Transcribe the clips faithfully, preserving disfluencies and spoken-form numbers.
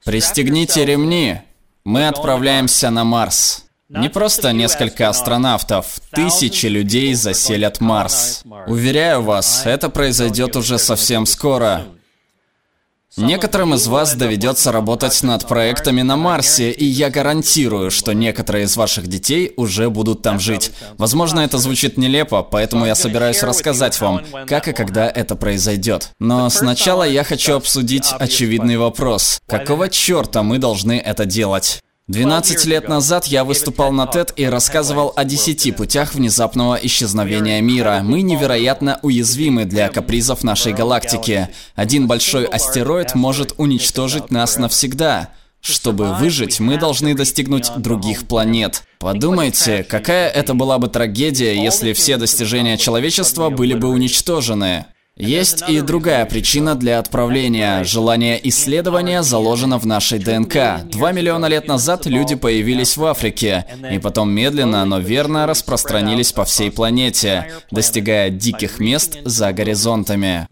Пристегните ремни. Мы отправляемся на Марс. Не просто несколько астронавтов, тысячи людей заселят Марс. Уверяю вас, это произойдет уже совсем скоро. Некоторым из вас доведется работать над проектами на Марсе, и я гарантирую, что некоторые из ваших детей уже будут там жить. Возможно, это звучит нелепо, поэтому я собираюсь рассказать вам, как и когда это произойдет. Но сначала я хочу обсудить очевидный вопрос. Какого черта мы должны это делать? двенадцать лет назад я выступал на тед и рассказывал о десяти путях внезапного исчезновения мира. Мы невероятно уязвимы для капризов нашей галактики. Один большой астероид может уничтожить нас навсегда. Чтобы выжить, мы должны достигнуть других планет. Подумайте, какая это была бы трагедия, если все достижения человечества были бы уничтожены. Есть и другая причина для отправления. Желание исследования заложено в нашей ДНК. Два миллиона лет назад люди появились в Африке, и потом медленно, но верно распространились по всей планете, достигая диких мест за горизонтами.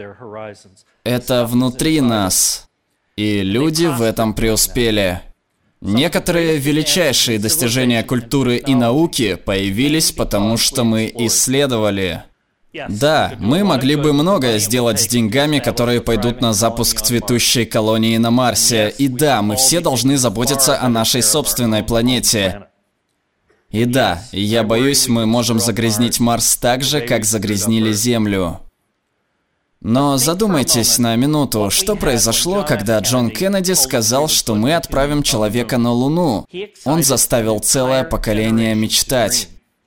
Это внутри нас, и люди в этом преуспели. Некоторые величайшие достижения культуры и науки появились потому, что мы исследовали. Да, мы могли бы многое сделать с деньгами, которые пойдут на запуск цветущей колонии на Марсе. И да, мы все должны заботиться о нашей собственной планете. И да, я боюсь, мы можем загрязнить Марс так же, как загрязнили Землю. Но задумайтесь на минуту, что произошло, когда Джон Кеннеди сказал, что мы отправим человека на Луну. Он заставил целое поколение мечтать.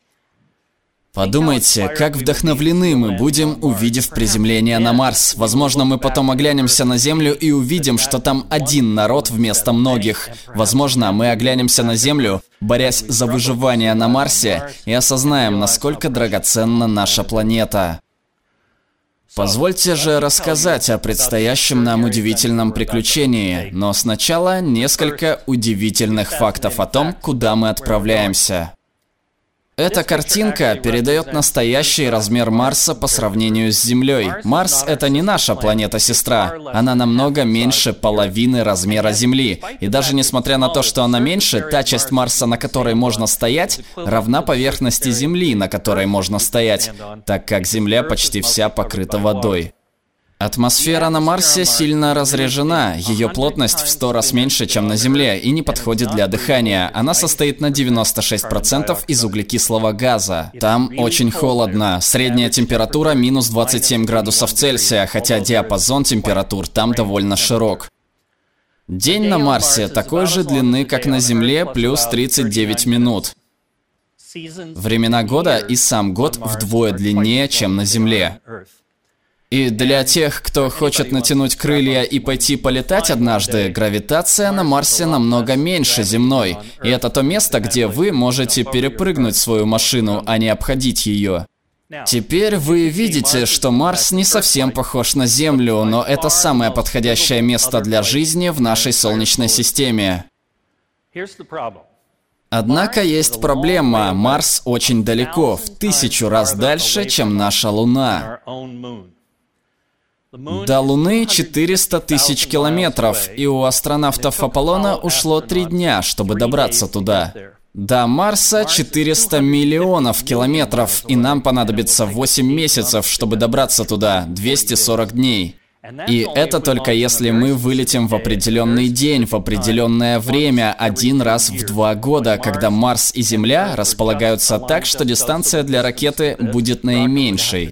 Подумайте, как вдохновлены мы будем, увидев приземление на Марс. Возможно, мы потом оглянемся на Землю и увидим, что там один народ вместо многих. Возможно, мы оглянемся на Землю, борясь за выживание на Марсе, и осознаем, насколько драгоценна наша планета. Позвольте же рассказать о предстоящем нам удивительном приключении, но сначала несколько удивительных фактов о том, куда мы отправляемся. Эта картинка передает настоящий размер Марса по сравнению с Землей. Марс — это не наша планета-сестра. Она намного меньше половины размера Земли. И даже несмотря на то, что она меньше, та часть Марса, на которой можно стоять, равна поверхности Земли, на которой можно стоять, так как Земля почти вся покрыта водой. Атмосфера на Марсе сильно разрежена, ее плотность в сто раз меньше, чем на Земле, и не подходит для дыхания. Она состоит на девяносто шесть процентов из углекислого газа. Там очень холодно, средняя температура минус двадцать семь градусов Цельсия, хотя диапазон температур там довольно широк. День на Марсе такой же длины, как на Земле, плюс тридцать девять минут. Времена года и сам год вдвое длиннее, чем на Земле. И для тех, кто хочет натянуть крылья и пойти полетать однажды, гравитация на Марсе намного меньше земной. И это то место, где вы можете перепрыгнуть свою машину, а не обходить ее. Теперь вы видите, что Марс не совсем похож на Землю, но это самое подходящее место для жизни в нашей Солнечной системе. Однако есть проблема. Марс очень далеко, в тысячу раз дальше, чем наша Луна. До Луны четыреста тысяч километров, и у астронавтов Аполлона ушло три дня, чтобы добраться туда. До Марса четыреста миллионов километров, и нам понадобится восемь месяцев, чтобы добраться туда, двести сорок дней. И это только если мы вылетим в определенный день, в определенное время, один раз в два года, когда Марс и Земля располагаются так, что дистанция для ракеты будет наименьшей.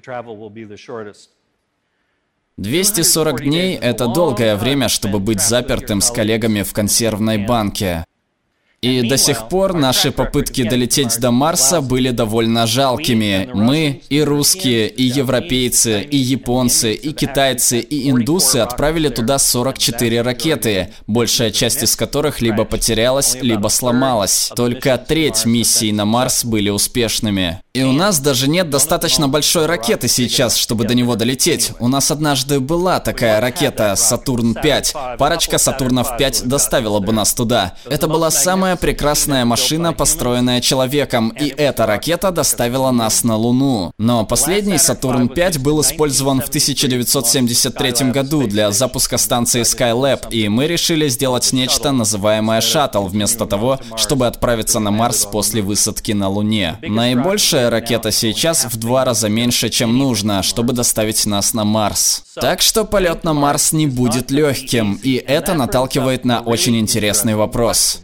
двести сорок дней – это долгое время, чтобы быть запертым с коллегами в консервной банке. И до сих пор наши попытки долететь до Марса были довольно жалкими. Мы, и русские, и европейцы, и японцы, и китайцы, и индусы отправили туда сорок четыре ракеты, большая часть из которых либо потерялась, либо сломалась. Только треть миссий на Марс были успешными. И у нас даже нет достаточно большой ракеты сейчас, чтобы до него долететь. У нас однажды была такая ракета Сатурн пять. Парочка Сатурнов пять доставила бы нас туда. Это была самая самая прекрасная машина, построенная человеком, и эта ракета доставила нас на Луну. Но последний Сатурн пять был использован в тысяча девятьсот семьдесят третьем году для запуска станции Skylab, и мы решили сделать нечто, называемое шаттл, вместо того, чтобы отправиться на Марс после высадки на Луне. Наибольшая ракета сейчас в два раза меньше, чем нужно, чтобы доставить нас на Марс. Так что полет на Марс не будет легким, и это наталкивает на очень интересный вопрос.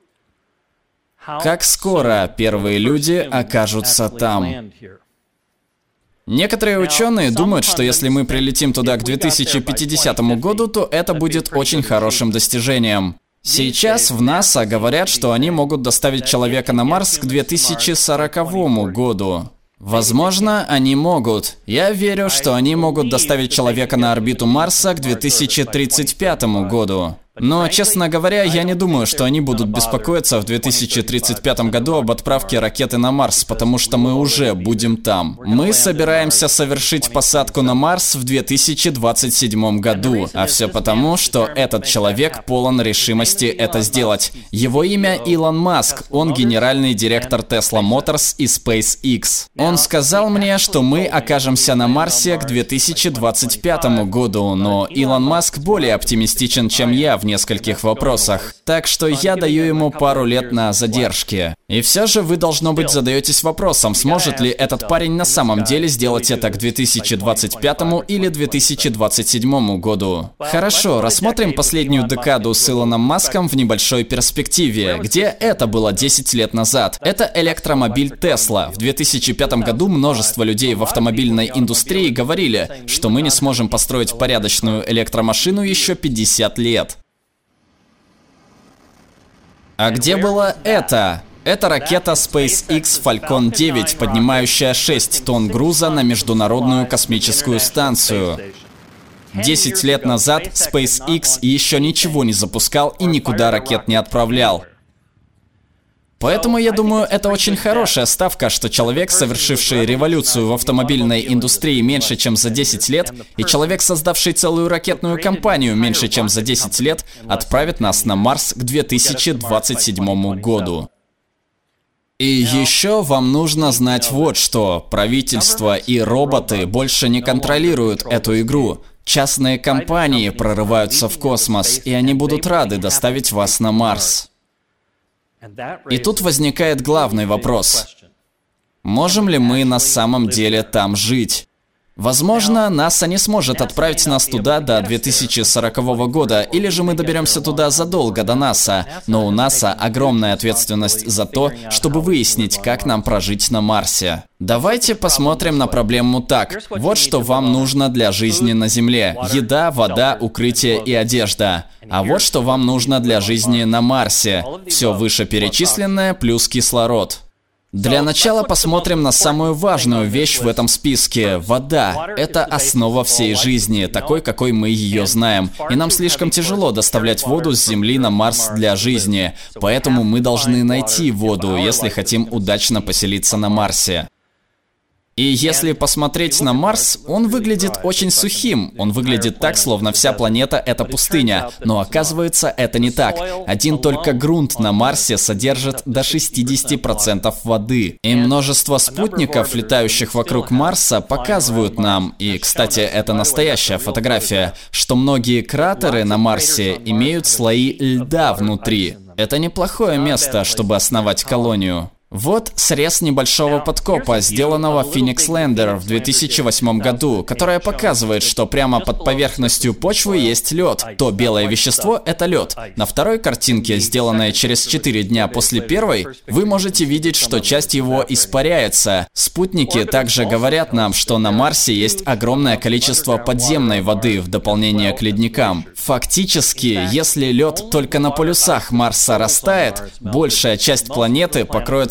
Как скоро первые люди окажутся там? Некоторые ученые думают, что если мы прилетим туда к две тысячи пятидесятому году, то это будет очень хорошим достижением. Сейчас в НАСА говорят, что они могут доставить человека на Марс к две тысячи сороковому году. Возможно, они могут. Я верю, что они могут доставить человека на орбиту Марса к две тысячи тридцать пятому году. Но, честно говоря, я не думаю, что они будут беспокоиться в две тысячи тридцать пятом году об отправке ракеты на Марс, потому что мы уже будем там. Мы собираемся совершить посадку на Марс в две тысячи двадцать седьмом году, а все потому, что этот человек полон решимости это сделать. Его имя Илон Маск, он генеральный директор Tesla Motors и SpaceX. Он сказал мне, что мы окажемся на Марсе к две тысячи двадцать пятому году, но Илон Маск более оптимистичен, чем я в нескольких вопросах, так что я даю ему пару лет на задержке. И все же вы, должно быть, задаетесь вопросом, сможет ли этот парень на самом деле сделать это к две тысячи двадцать пятому или две тысячи двадцать седьмому году. Хорошо, рассмотрим последнюю декаду с Илоном Маском в небольшой перспективе, где это было десять лет назад. Это электромобиль Tesla. В две тысячи пятом году множество людей в автомобильной индустрии говорили, что мы не сможем построить порядочную электромашину еще пятьдесят лет. А где было это? Это ракета SpaceX Falcon девять, поднимающая шесть тонн груза на Международную космическую станцию. десять лет назад SpaceX еще ничего не запускал и никуда ракет не отправлял. Поэтому я думаю, это очень хорошая ставка, что человек, совершивший революцию в автомобильной индустрии меньше, чем за десять лет, и человек, создавший целую ракетную компанию меньше, чем за десять лет, отправит нас на Марс к две тысячи двадцать седьмому году. И еще вам нужно знать вот что. Правительство и роботы больше не контролируют эту игру. Частные компании прорываются в космос, и они будут рады доставить вас на Марс. И тут возникает главный вопрос. Можем ли мы на самом деле там жить? Возможно, НАСА не сможет отправить нас туда до две тысячи сорокового года, или же мы доберемся туда задолго до НАСА, но у НАСА огромная ответственность за то, чтобы выяснить, как нам прожить на Марсе. Давайте посмотрим на проблему так. Вот что вам нужно для жизни на Земле. Еда, вода, укрытие и одежда. А вот что вам нужно для жизни на Марсе. Все вышеперечисленное плюс кислород. Для начала посмотрим на самую важную вещь в этом списке. Вода. Это основа всей жизни, такой, какой мы ее знаем. И нам слишком тяжело доставлять воду с Земли на Марс для жизни. Поэтому мы должны найти воду, если хотим удачно поселиться на Марсе. И если посмотреть на Марс, он выглядит очень сухим. Он выглядит так, словно вся планета — это пустыня. Но оказывается, это не так. Один только грунт на Марсе содержит до шестидесяти процентов воды. И множество спутников, летающих вокруг Марса, показывают нам, и, кстати, это настоящая фотография, что многие кратеры на Марсе имеют слои льда внутри. Это неплохое место, чтобы основать колонию. Вот срез небольшого подкопа, сделанного Phoenix Lander в две тысячи восьмом году, которое показывает, что прямо под поверхностью почвы есть лед. То белое вещество — это лед. На второй картинке, сделанной через четыре дня после первой, вы можете видеть, что часть его испаряется. Спутники также говорят нам, что на Марсе есть огромное количество подземной воды в дополнение к ледникам. Фактически, если лед только на полюсах Марса растает, большая часть планеты покроется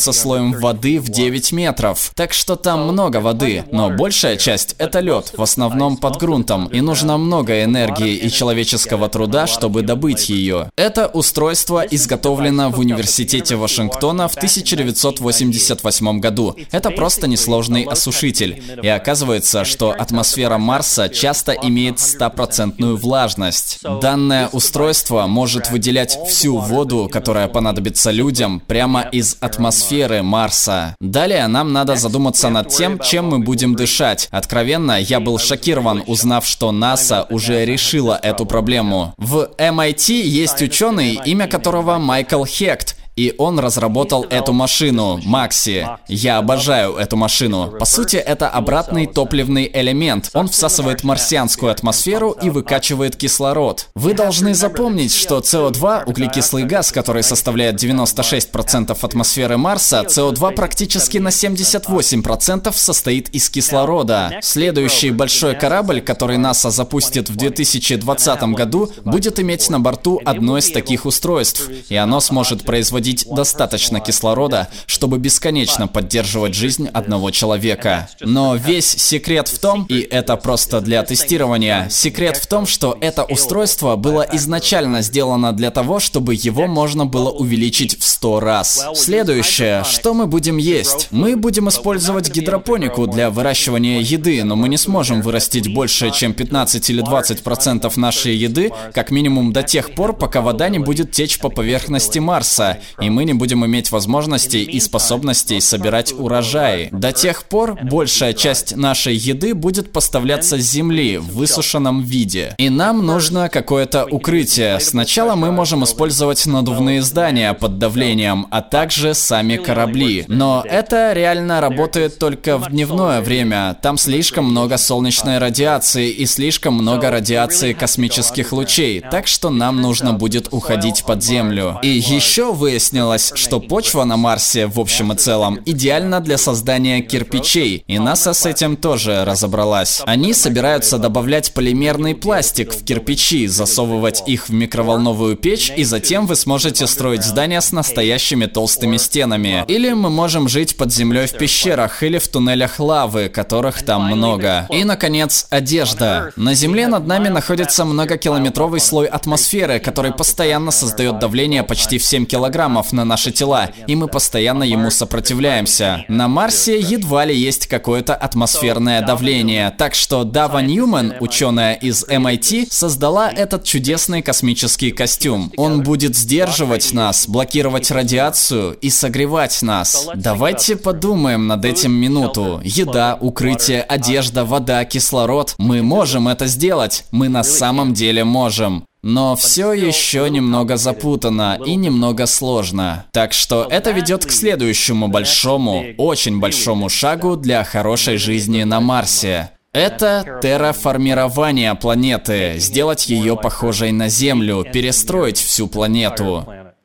со слоем воды в девять метров. Так что там много воды, но большая часть — это лед, в основном под грунтом, и нужно много энергии и человеческого труда, чтобы добыть ее. Это устройство изготовлено в Университете Вашингтона в тысяча девятьсот восемьдесят восьмом году. Это просто несложный осушитель. И оказывается, что атмосфера Марса часто имеет стопроцентную влажность. Данное устройство может выделять всю воду, которая понадобится людям, прямо из атмосферы Марса. Далее нам надо задуматься над тем, чем мы будем дышать. Откровенно, я был шокирован, узнав, что НАСА уже решила эту проблему. В эм ай ти есть ученый, имя которого Майкл Хехт. И он разработал эту машину, Макси. Я обожаю эту машину. По сути, это обратный топливный элемент. Он всасывает марсианскую атмосферу и выкачивает кислород. Вы должны запомнить, что си о два, углекислый газ, который составляет девяносто шесть процентов атмосферы Марса, си о два практически на семьдесят восемь процентов состоит из кислорода. Следующий большой корабль, который НАСА запустит в две тысячи двадцатом году, будет иметь на борту одно из таких устройств. И оно сможет производить достаточно кислорода, чтобы бесконечно поддерживать жизнь одного человека. Но весь секрет в том, и это просто для тестирования, секрет в том, что это устройство было изначально сделано для того, чтобы его можно было увеличить в сто раз. Следующее, что мы будем есть? Мы будем использовать гидропонику для выращивания еды, но мы не сможем вырастить больше, чем пятнадцать или двадцать процентов нашей еды, как минимум до тех пор, пока вода не будет течь по поверхности Марса, и мы не будем иметь возможностей и способностей собирать урожаи. До тех пор большая часть нашей еды будет поставляться с Земли в высушенном виде. И нам нужно какое-то укрытие. Сначала мы можем использовать надувные здания под давлением, а также сами корабли. Но это реально работает только в дневное время. Там слишком много солнечной радиации и слишком много радиации космических лучей, так что нам нужно будет уходить под землю. И еще выяснилось, что почва на Марсе в общем и целом идеальна для создания кирпичей, и НАСА с этим тоже разобралась. Они собираются добавлять полимерный пластик в кирпичи, засовывать их в микроволновую печь, и затем вы сможете строить здания с настоящими толстыми стенами. Или мы можем жить под землей в пещерах или в туннелях лавы, которых там много. И, наконец, одежда. На Земле над нами находится многокилометровый слой атмосферы, который постоянно создает давление почти в семь килограммов на наши тела, и мы постоянно ему сопротивляемся. На Марсе едва ли есть какое-то атмосферное давление, так что Дава Ньюман, ученая из эм ай ти, создала этот чудесный космический костюм. Он будет сдерживать нас, блокировать радиацию и согревать нас. Давайте подумаем над этим минуту. Еда, укрытие, одежда, вода, кислород. Мы можем это сделать. Мы на самом деле можем. Но все еще немного запутано и немного сложно. Так что это ведет к следующему большому, очень большому шагу для хорошей жизни на Марсе. Это терраформирование планеты, сделать ее похожей на Землю, перестроить всю планету.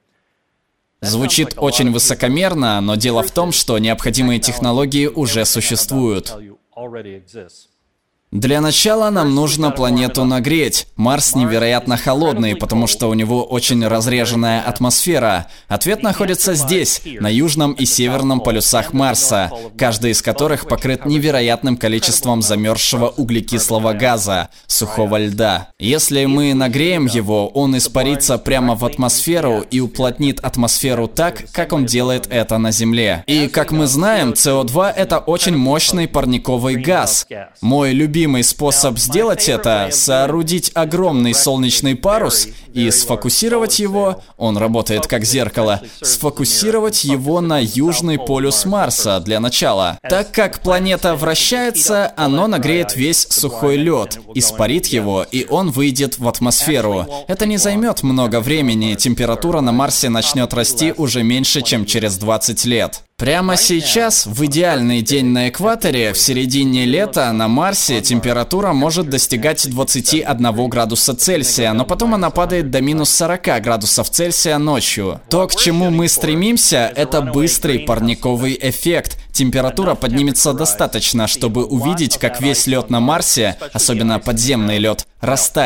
Звучит очень высокомерно, но дело в том, что необходимые технологии уже существуют. Для начала нам нужно планету нагреть. Марс невероятно холодный, потому что у него очень разреженная атмосфера. Ответ находится здесь, на южном и северном полюсах Марса, каждый из которых покрыт невероятным количеством замерзшего углекислого газа, сухого льда. Если мы нагреем его, он испарится прямо в атмосферу и уплотнит атмосферу так, как он делает это на Земле. И, как мы знаем, си о два — это очень мощный парниковый газ. Мой любимый способ сделать это — соорудить огромный солнечный парус и сфокусировать его, он работает как зеркало, сфокусировать его на южный полюс Марса для начала. Так как планета вращается, оно нагреет весь сухой лед, испарит его, и он выйдет в атмосферу. Это не займет много времени, температура на Марсе начнет расти уже меньше, чем через двадцать лет. Прямо сейчас, в идеальный день на экваторе, в середине лета на Марсе температура может достигать двадцати одного градуса Цельсия, но потом она падает до минус сорока градусов Цельсия ночью. То, к чему мы стремимся, это быстрый парниковый эффект. Температура поднимется достаточно, чтобы увидеть, как весь лед на Марсе, особенно подземный лед, растает.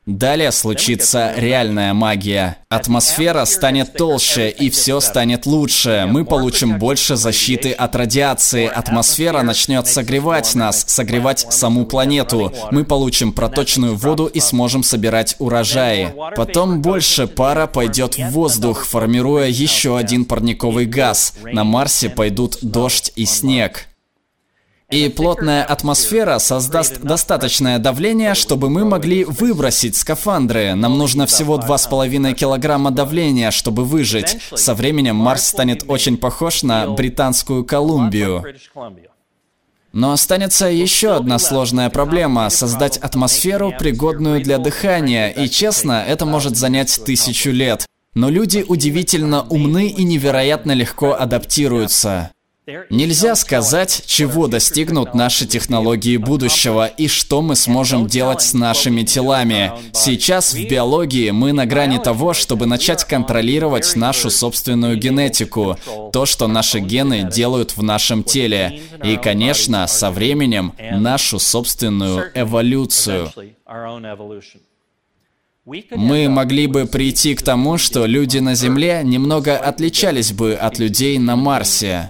Далее случится реальная магия. Атмосфера станет толще, и все станет лучше. Мы получим больше защиты от радиации. Атмосфера начнет согревать нас, согревать саму планету. Мы получим проточную воду и сможем собирать урожаи. Потом больше пара пойдет в воздух, формируя еще один парниковый газ. На Марсе пойдут дождь и снег. И плотная атмосфера создаст достаточное давление, чтобы мы могли выбросить скафандры. Нам нужно всего два с половиной килограмма давления, чтобы выжить. Со временем Марс станет очень похож на Британскую Колумбию. Но останется еще одна сложная проблема – создать атмосферу, пригодную для дыхания. И честно, это может занять тысячу лет. Но люди удивительно умны и невероятно легко адаптируются. Нельзя сказать, чего достигнут наши технологии будущего и что мы сможем делать с нашими телами. Сейчас в биологии мы на грани того, чтобы начать контролировать нашу собственную генетику, то, что наши гены делают в нашем теле, и, конечно, со временем нашу собственную эволюцию. Мы могли бы прийти к тому, что люди на Земле немного отличались бы от людей на Марсе.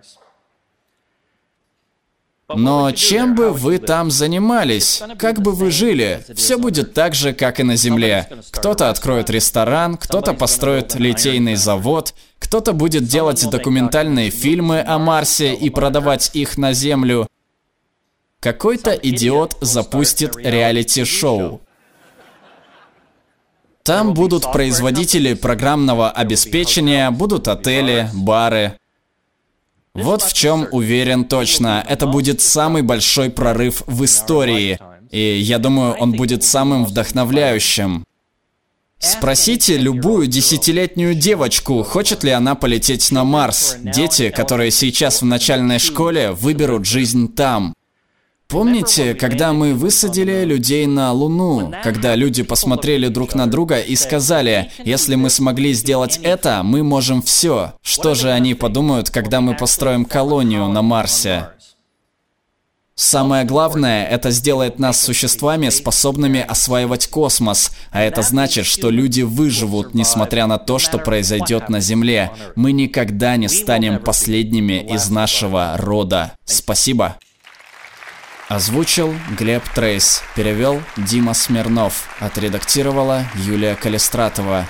Но чем бы вы там занимались? Как бы вы жили? Все будет так же, как и на Земле. Кто-то откроет ресторан, кто-то построит литейный завод, кто-то будет делать документальные фильмы о Марсе и продавать их на Землю. Какой-то идиот запустит реалити-шоу. Там будут производители программного обеспечения, будут отели, бары. Вот в чем уверен точно. Это будет самый большой прорыв в истории. И я думаю, он будет самым вдохновляющим. Спросите любую десятилетнюю девочку, хочет ли она полететь на Марс. Дети, которые сейчас в начальной школе, выберут жизнь там. Помните, когда мы высадили людей на Луну, когда люди посмотрели друг на друга и сказали, если мы смогли сделать это, мы можем все. Что же они подумают, когда мы построим колонию на Марсе? Самое главное, это сделает нас существами, способными осваивать космос, а это значит, что люди выживут, несмотря на то, что произойдет на Земле. Мы никогда не станем последними из нашего рода. Спасибо. Озвучил Глеб Трейс, перевел Дима Смирнов, отредактировала Юлия Калистратова.